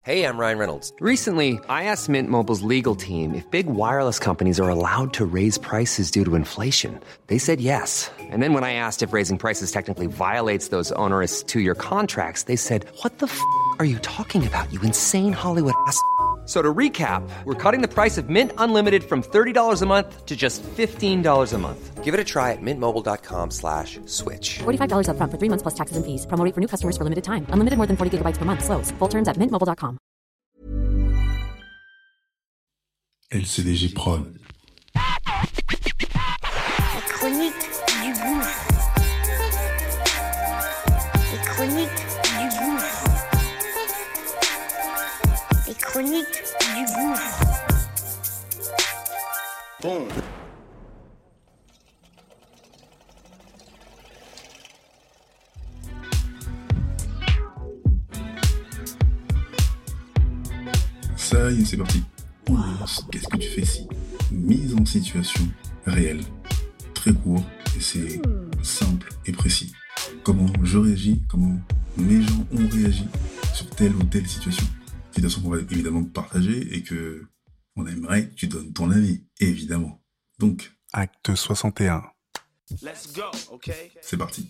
Hey, I'm Ryan Reynolds. Recently, I asked Mint Mobile's legal team if big wireless companies are allowed to raise prices due to inflation. They said yes. And then when I asked if raising prices technically violates those onerous two-year contracts, they said, "What the f*** are you talking about, you insane Hollywood ass?" So to recap, we're cutting the price of Mint Unlimited from $30 a month to just $15 a month. Give it a try at mintmobile.com/switch. $45 up front for 3 months plus taxes and fees. Promo rate for new customers for limited time. Unlimited more than 40 gigabytes per month. Slows full terms at mintmobile.com. LCDJ Prod. La chronique du gouffre. Les chroniques du gouffre. Les chroniques du gouffre. Bon. Ça y est, c'est parti. On lance. Qu'est-ce que tu fais ici? Mise en situation réelle. Très court, et c'est simple et précis. Comment je réagis, comment mes gens ont réagi sur telle ou telle situation. Situation qu'on va évidemment partager et que on aimerait que tu donnes ton avis, évidemment. Donc, acte 61. Let's go, okay? C'est parti.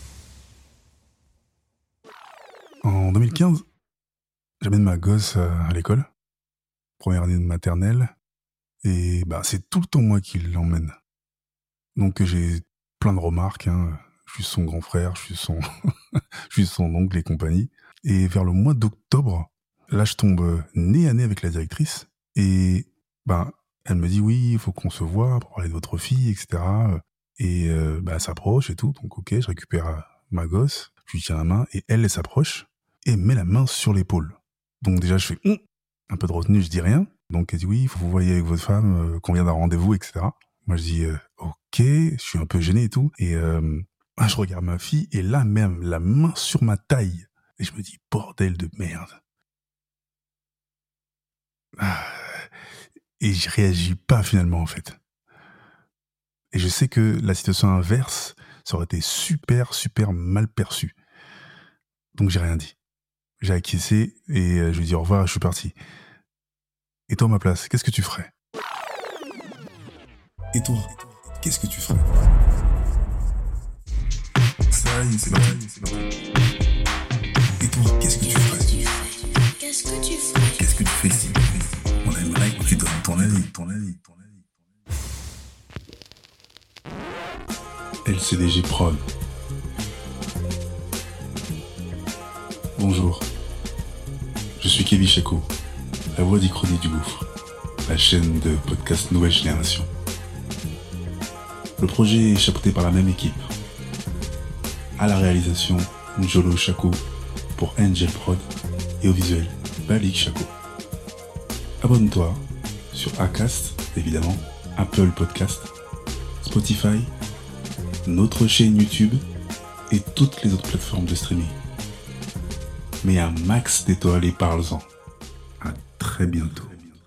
En 2015, j'amène ma gosse à l'école. Première année de maternelle. Et c'est tout le temps moi qui l'emmène. Donc j'ai plein de remarques. Je suis son grand frère, je suis son oncle et compagnie. Et vers le mois d'octobre, là je tombe nez à nez avec la directrice. Et elle me dit oui, il faut qu'on se voit pour parler de votre fille, etc. Et elle s'approche et tout. Donc ok, je récupère ma gosse, je lui tiens la main et elle s'approche et met la main sur l'épaule. Donc déjà je fais un peu de retenue, je dis rien. Donc elle dit oui, il faut que vous voyez avec votre femme, qu'on vient d'un rendez-vous, etc. Moi je dis ok, je suis un peu gêné et tout. Et je regarde ma fille et là même, la main sur ma taille. Et je me dis bordel de merde. Et je réagis pas finalement en fait. Et je sais que la situation inverse, ça aurait été super, super mal perçu. Donc j'ai rien dit. J'ai acquiescé et je lui dis au revoir, je suis parti. Et toi, à ma place, qu'est-ce que tu ferais? Et toi, qu'est-ce que tu ferais? Ça y est, c'est parti. Et toi, qu'est-ce que tu ferais? Qu'est-ce que tu ferais? Qu'est-ce que tu fais ici? On aimerait que tu donnes ton avis. LCDJ Prod. Bonjour, je suis Kevin Chaco, la voix d'Ichronique du Gouffre, la chaîne de podcast Nouvelle Génération. Le projet est chapeauté par la même équipe. À la réalisation, Njolo Chaco pour Angel Prod et au visuel, Balik Chaco. Abonne-toi sur Acast, évidemment, Apple Podcast, Spotify, notre chaîne YouTube et toutes les autres plateformes de streaming. Mais un max d'étoiles et parle-en. À très bientôt.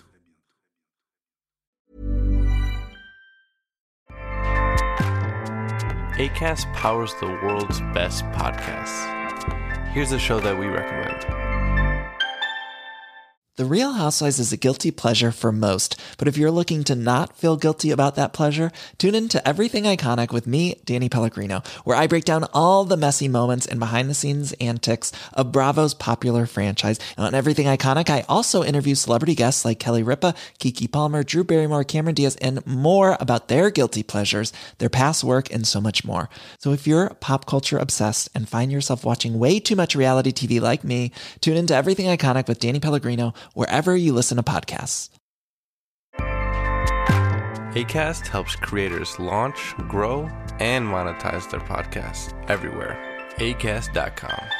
Acast powers the world's best podcasts. Here's a show that we recommend. The Real Housewives is a guilty pleasure for most, but if you're looking to not feel guilty about that pleasure, tune in to Everything Iconic with me, Danny Pellegrino, where I break down all the messy moments and behind-the-scenes antics of Bravo's popular franchise. And on Everything Iconic, I also interview celebrity guests like Kelly Ripa, Keke Palmer, Drew Barrymore, Cameron Diaz, and more about their guilty pleasures, their past work, and so much more. So if you're pop culture obsessed and find yourself watching way too much reality TV like me, tune into Everything Iconic with Danny Pellegrino, wherever you listen to podcasts. Acast helps creators launch, grow, and monetize their podcasts everywhere. Acast.com.